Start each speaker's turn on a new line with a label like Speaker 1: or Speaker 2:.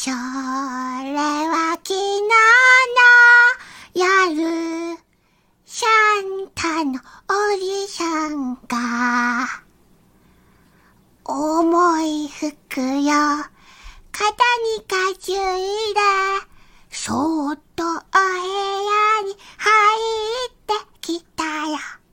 Speaker 1: それは昨日の夜、サンタのおじさんが、重い服よ、肩に担いで、